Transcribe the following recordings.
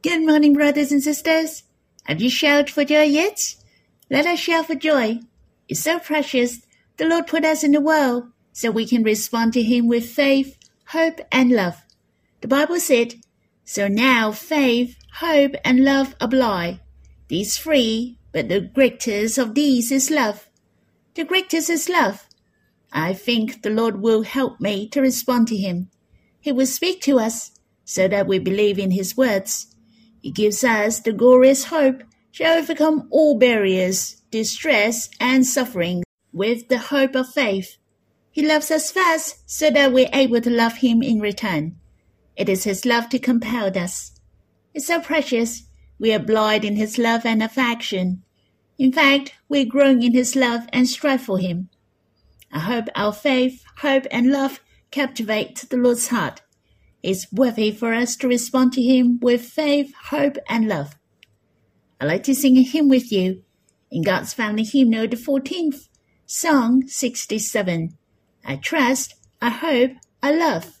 Good morning, brothers and sisters. Have you shouted for joy yet? Let us shout for joy. It's so precious. The Lord put us in the world so we can respond to Him with faith, hope, and love. The Bible said, so now faith, hope, and love apply. These three, but the greatest of these is love. The greatest is love. I think the Lord will help me to respond to Him. He will speak to us so that we believe in His words. He gives us the glorious hope to overcome all barriers, distress, and suffering with the hope of faith. He loves us first so that we're able to love Him in return. It is His love to compel us. It's so precious. We are blind in His love and affection. In fact, we're growing in His love and strive for Him. I hope our faith, hope, and love captivate the Lord's heart. It's worthy for us to respond to Him with faith, hope, and love. I'd like to sing a hymn with you in God's Family Hymnal, the 14th, Song 67. I trust, I hope, I love.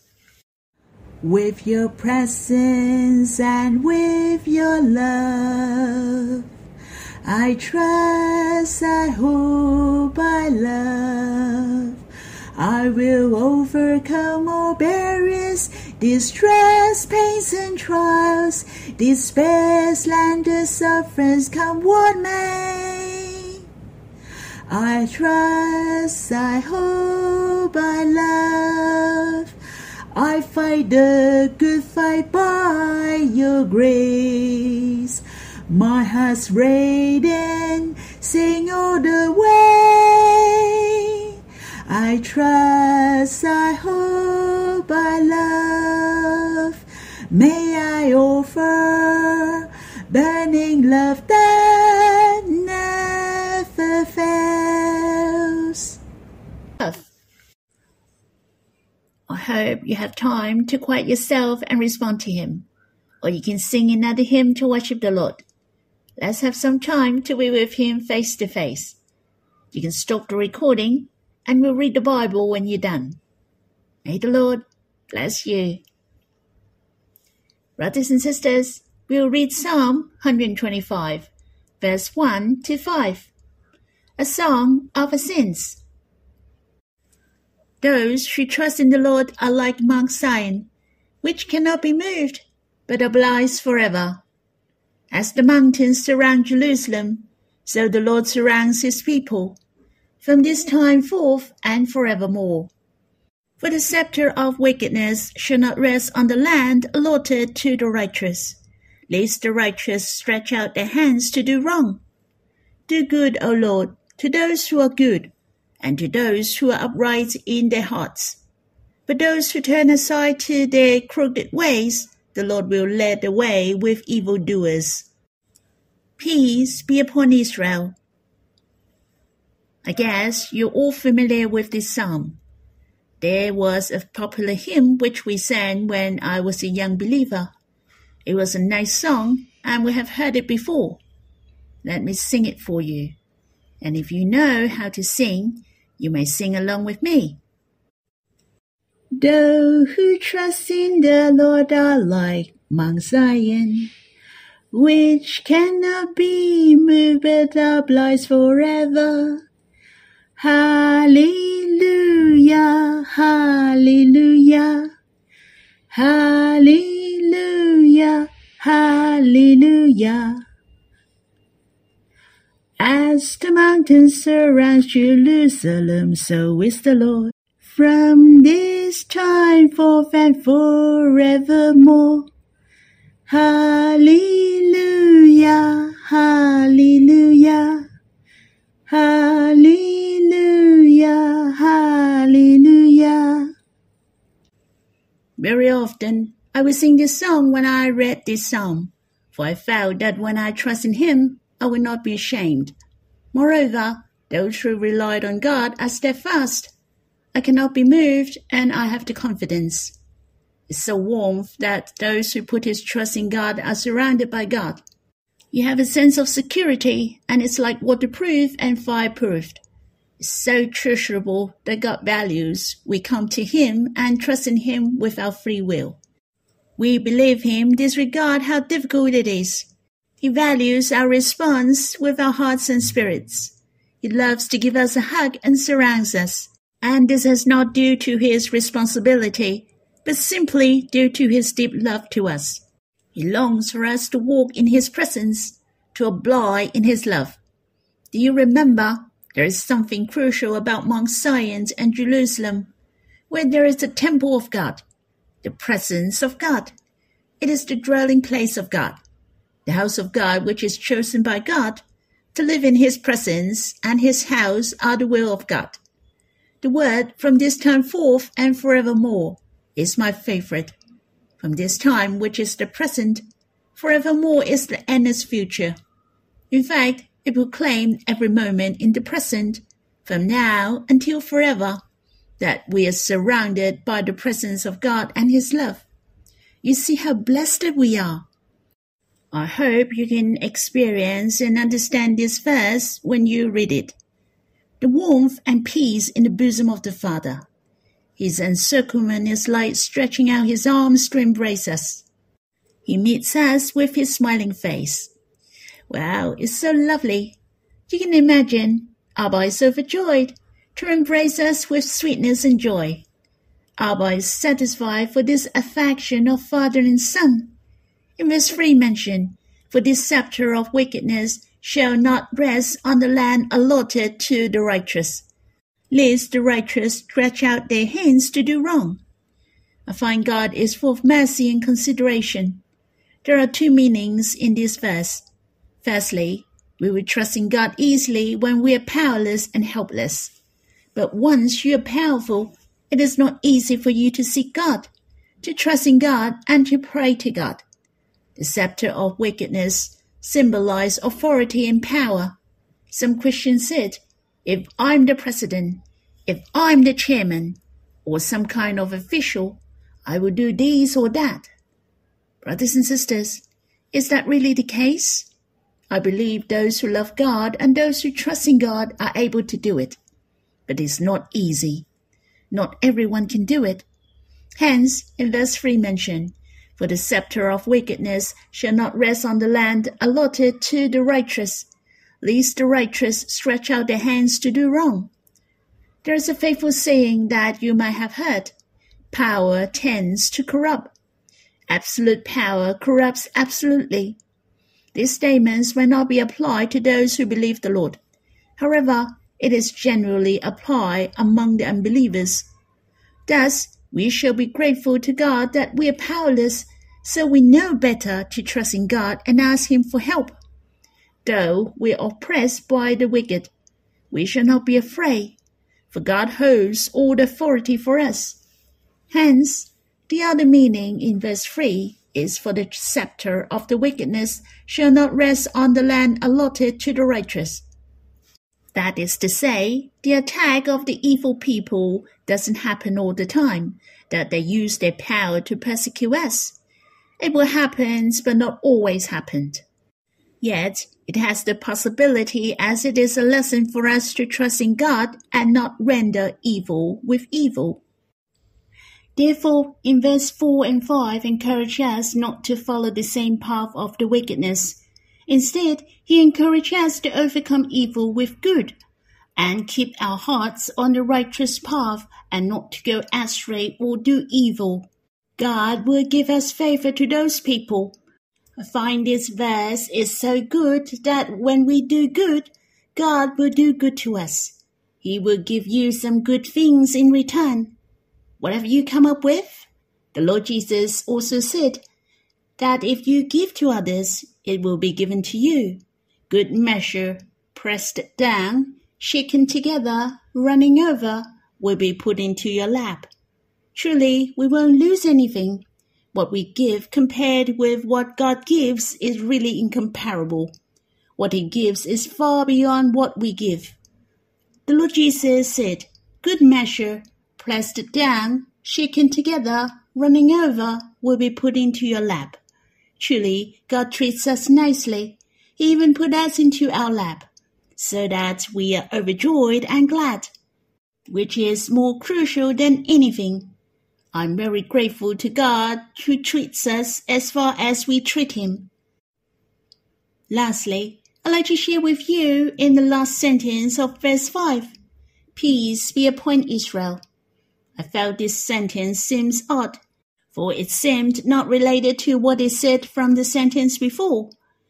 With your presence and with your love, I trust, I hope, I love. I will overcome all barriers, distress, pains, and trials, despair, slander, sufferings, come what may. I trust, I hope, I love. I fight the good fight by your grace. My heart's radiant, sing all the way. I trust, I hope, I love. May I offer burning love that never fails. I hope you have time to quiet yourself and respond to Him. Or you can sing another hymn to worship the Lord. Let's have some time to be with Him face to face. You can stop the recording and we'll read the Bible when you're done. May the Lord bless you. Brothers and sisters, we'll read Psalm 125, verse 1 to 5. A song of ascents. Those who trust in the Lord are like Mount Zion, which cannot be moved, but abides forever. As the mountains surround Jerusalem, so the Lord surrounds His people, from this time forth and forevermore. For the scepter of wickedness shall not rest on the land allotted to the righteous, lest the righteous stretch out their hands to do wrong. Do good, O Lord, to those who are good, and to those who are upright in their hearts. But those who turn aside to their crooked ways, the Lord will lead the way with evildoers. Peace be upon Israel. I guess you're all familiar with this psalm. There was a popular hymn which we sang when I was a young believer. It was a nice song, and we have heard it before. Let me sing it for you. And if you know how to sing, you may sing along with me. Those who trust in the Lord are like Mount Zion, which cannot be moved but abides forever. Hallelujah, hallelujah, hallelujah, hallelujah. As the mountains surround Jerusalem, so is the Lord, from this time forth and forevermore. Hallelujah, hallelujah, hallelujah, hallelujah. Very often, I will sing this song when I read this psalm, for I felt that when I trust in Him, I will not be ashamed. Moreover, those who relied on God are steadfast. I cannot be moved, and I have the confidence. It's so warm that those who put his trust in God are surrounded by God. You have a sense of security, and it's like waterproof and fireproofed. It's so treasurable that God values. We come to Him and trust in Him with our free will. We believe him disregard how difficult it is. He values our response with our hearts and spirits. He loves to give us a hug and surrounds us. And this is not due to his responsibility, but simply due to his deep love to us. He longs for us to walk in his presence, to abide in his love. Do you remember? There is something crucial about Mount Zion and Jerusalem, where there is the temple of God, the presence of God. It is the dwelling place of God, the house of God which is chosen by God. To live in his presence and his house are the will of God. The word from this time forth and forevermore is my favorite. From this time, which is the present, forevermore is the endless future. In fact, it will claim every moment in the present, from now until forever, that we are surrounded by the presence of God and his love. You see how blessed we are. I hope you can experience and understand this verse when you read it. The warmth and peace in the bosom of the Father. His encirclement is like stretching out his arms to embrace us. He meets us with his smiling face. Wow, it's so lovely. You can imagine, Abba is overjoyed to embrace us with sweetness and joy. Abba is satisfied for this affection of father and son. In verse 3 mentioned, for this scepter of wickedness shall not rest on the land allotted to the righteous, lest the righteous stretch out their hands to do wrong. I find God is full of mercy and consideration. There are two meanings in this verse. Firstly, we will trust in God easily when we are powerless and helpless. But once you are powerful, it is not easy for you to seek God, to trust in God, and to pray to God. The scepter of wickedness symbolizes authority and power. Some Christians said, if I'm the president, if I'm the chairman, or some kind of official, I will do this or that. Brothers and sisters, is that really the case? I believe those who love God and those who trust in God are able to do it. But it's not easy. Not everyone can do it. Hence, in verse 3 mentioned, for the scepter of wickedness shall not rest on the land allotted to the righteous, lest the righteous stretch out their hands to do wrong. There is a faithful saying that you might have heard, power tends to corrupt. Absolute power corrupts absolutely. These statements may not be applied to those who believe the Lord. However, it is generally applied among the unbelievers. Thus, we shall be grateful to God that we are powerless, so we know better to trust in God and ask him for help. Though we are oppressed by the wicked, we shall not be afraid, for God holds all the authority for us. Hence, the other meaning in verse 3 is for the scepter of the wickedness shall not rest on the land allotted to the righteous. That is to say, the attack of the evil people doesn't happen all the time, that they use their power to persecute us. It will happen, but not always happen. Yet, it has the possibility as it is a lesson for us to trust in God and not render evil with evil. Therefore, in verse 4 and 5 encourage us not to follow the same path of the wickedness. Instead, he encourages us to overcome evil with good and keep our hearts on the righteous path and not to go astray or do evil. God will give us favor to those people. I find this verse is so good that when we do good, God will do good to us. He will give you some good things in return. Whatever you come up with, the Lord Jesus also said that if you give to others, it will be given to you. Good measure, pressed down, shaken together, running over, will be put into your lap. Truly, we won't lose anything. What we give compared with what God gives is really incomparable. What he gives is far beyond what we give. The Lord Jesus said, good measure, pressed down, shaken together, running over, will be put into your lap. Truly, God treats us nicely. He even put us into our lap, so that we are overjoyed and glad, which is more crucial than anything. I'm very grateful to God who treats us as far as we treat him. Lastly, I'd like to share with you in the last sentence of verse 5, Peace be upon Israel. I felt this sentence seems odd, for it seemed not related to what is said from the sentence before.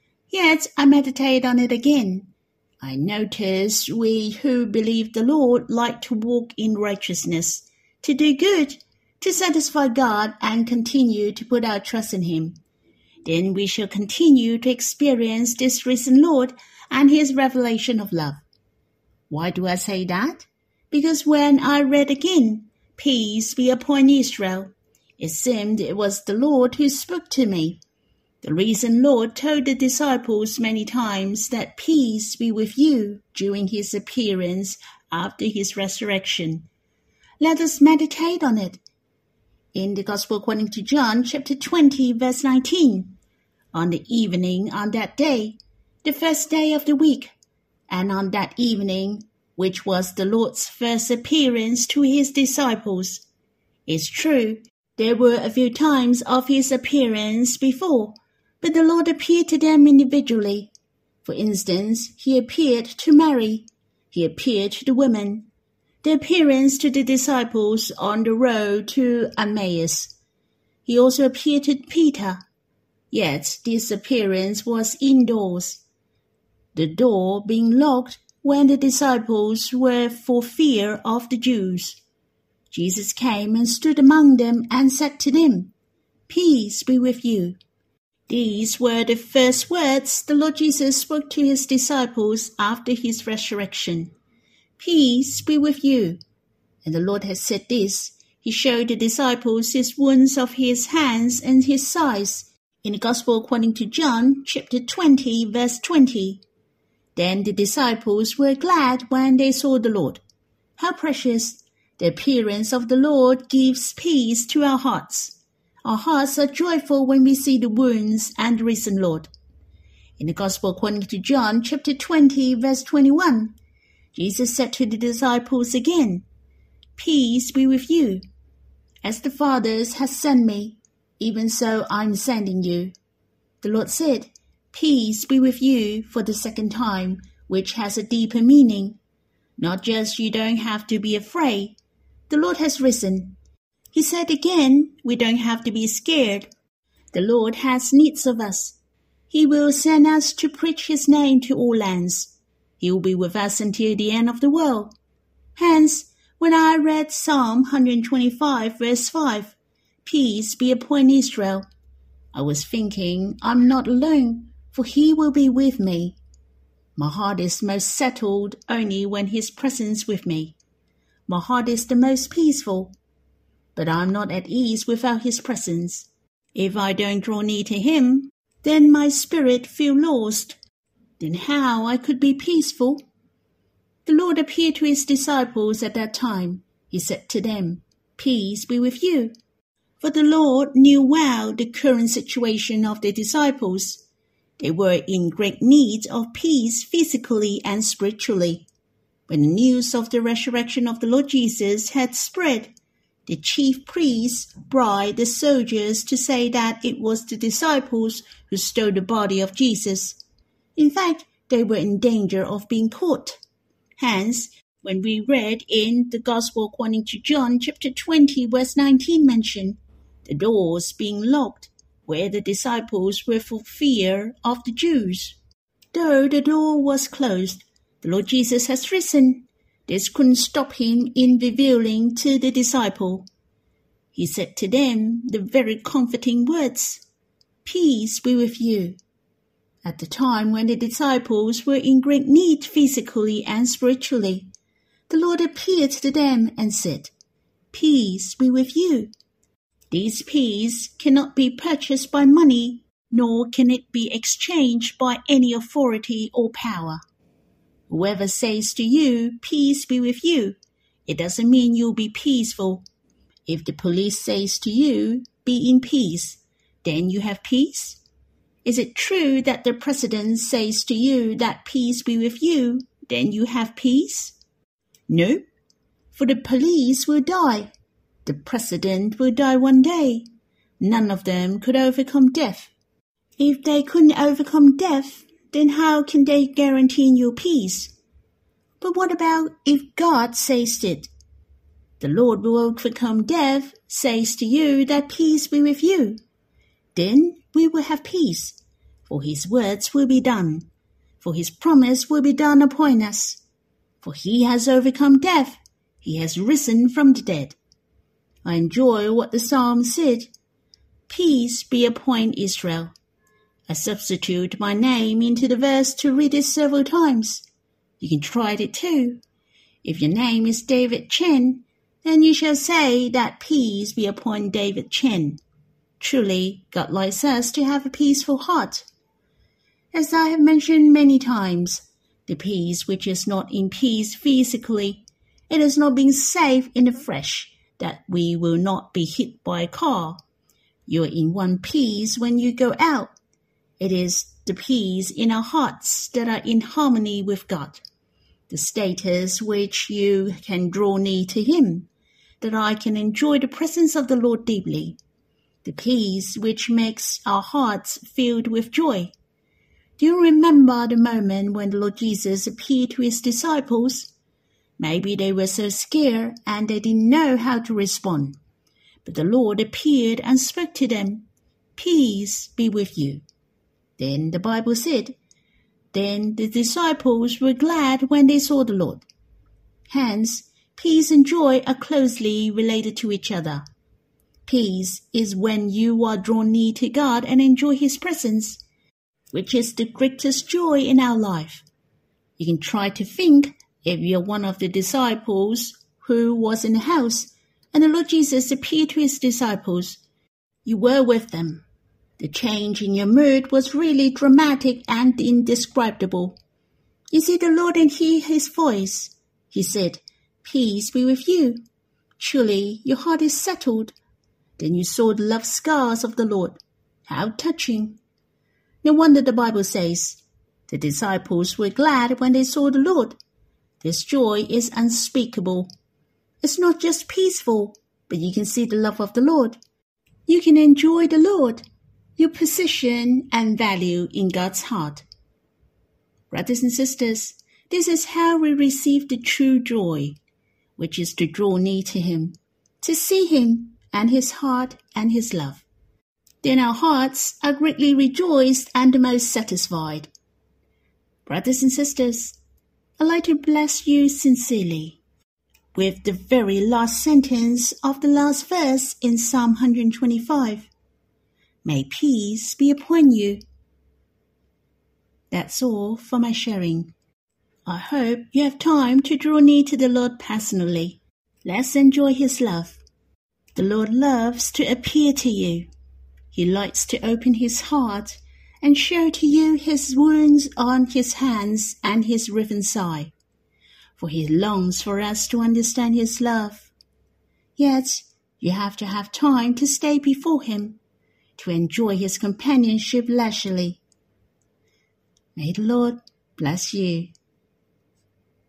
Yet I meditate on it again. I notice we who believe the Lord like to walk in righteousness, to do good, to satisfy God and continue to put our trust in him. Then we shall continue to experience this risen Lord and his revelation of love. Why do I say that? Because when I read again, Peace be upon Israel, it seemed it was the Lord who spoke to me. The risen Lord told the disciples many times that peace be with you during his appearance after his resurrection. Let us meditate on it. In the Gospel according to John, chapter 20, verse 19, on the evening on that day, the first day of the week, and on that evening, which was the Lord's first appearance to his disciples. It's true, there were a few times of his appearance before, but the Lord appeared to them individually. For instance, he appeared to Mary. He appeared to the women. The appearance to the disciples on the road to Emmaus. He also appeared to Peter. Yet this appearance was indoors, the door being locked when the disciples were for fear of the Jews. Jesus came and stood among them and said to them, Peace be with you. These were the first words the Lord Jesus spoke to his disciples after his resurrection. Peace be with you. And the Lord had said this. He showed the disciples his wounds of his hands and his sides. In the Gospel according to John, chapter 20, verse 20. Then the disciples were glad when they saw the Lord. How precious! The appearance of the Lord gives peace to our hearts. Our hearts are joyful when we see the wounds and the risen Lord. In the Gospel according to John, chapter 20, verse 21, Jesus said to the disciples again, Peace be with you. As the Father has sent me, even so I'm sending you. The Lord said, Peace be with you for the second time, which has a deeper meaning. Not just you don't have to be afraid. The Lord has risen. He said again, we don't have to be scared. The Lord has needs of us. He will send us to preach his name to all lands. He will be with us until the end of the world. Hence, when I read Psalm 125, verse 5, Peace be upon Israel, I was thinking, I'm not alone, for he will be with me. My heart is most settled only when his presence with me. My heart is the most peaceful, but I'm not at ease without his presence. If I don't draw near to him, then my spirit feel lost. Then how I could be peaceful? The Lord appeared to his disciples at that time. He said to them, Peace be with you. For the Lord knew well the current situation of the disciples. They were in great need of peace physically and spiritually. When the news of the resurrection of the Lord Jesus had spread, the chief priests bribed the soldiers to say that it was the disciples who stole the body of Jesus. In fact, they were in danger of being caught. Hence, when we read in the Gospel according to John chapter 20, verse 19 mentioned, the doors being locked, where the disciples were for fear of the Jews. Though the door was closed, the Lord Jesus has risen. This couldn't stop him in revealing to the disciple. He said to them the very comforting words, Peace be with you. At the time when the disciples were in great need physically and spiritually, the Lord appeared to them and said, Peace be with you. This peace cannot be purchased by money, nor can it be exchanged by any authority or power. Whoever says to you, Peace be with you, it doesn't mean you'll be peaceful. If the police says to you, Be in peace, then you have peace? Is it true that the president says to you that peace be with you, then you have peace? No, for the police will die. The president will die one day. None of them could overcome death. If they couldn't overcome death, then how can they guarantee you peace? But what about if God says it? The Lord will overcome death, says to you that peace be with you. Then we will have peace, for his words will be done, for his promise will be done upon us. For he has overcome death, he has risen from the dead. I enjoy what the psalm said, peace be upon Israel. I substitute my name into the verse to read it several times. You can try it too. If your name is David Chen, then you shall say that peace be upon David Chen. Truly, God likes us to have a peaceful heart. As I have mentioned many times, the peace which is not in peace physically, it is not being safe in the flesh, that we will not be hit by a car. You are in one piece when you go out. It is the peace in our hearts that are in harmony with God, the status which you can draw near to him, that I can enjoy the presence of the Lord deeply, the peace which makes our hearts filled with joy. Do you remember the moment when the Lord Jesus appeared to his disciples? Maybe they were so scared and they didn't know how to respond. But the Lord appeared and spoke to them, peace be with you. Then the Bible said, then the disciples were glad when they saw the Lord. Hence, peace and joy are closely related to each other. Peace is when you are drawn near to God and enjoy his presence, which is the greatest joy in our life. You can try to think if you're one of the disciples who was in the house and the Lord Jesus appeared to his disciples. You were with them. The change in your mood was really dramatic and indescribable. You see the Lord and hear his voice. He said, peace be with you. Surely your heart is settled. Then you saw the love scars of the Lord. How touching. No wonder the Bible says, the disciples were glad when they saw the Lord. This joy is unspeakable. It's not just peaceful, but you can see the love of the Lord. You can enjoy the Lord, your position and value in God's heart. Brothers and sisters, this is how we receive the true joy, which is to draw near to him, to see him and his heart and his love. Then our hearts are greatly rejoiced and the most satisfied. Brothers and sisters, I'd like to bless you sincerely with the very last sentence of the last verse in Psalm 125. May peace be upon you. That's all for my sharing. I hope you have time to draw near to the Lord personally. Let's enjoy his love. The Lord loves to appear to you. He likes to open his heart and show to you his wounds on his hands and his riven side. For he longs for us to understand his love. Yet, you have to have time to stay before him, to enjoy his companionship leisurely. May the Lord bless you.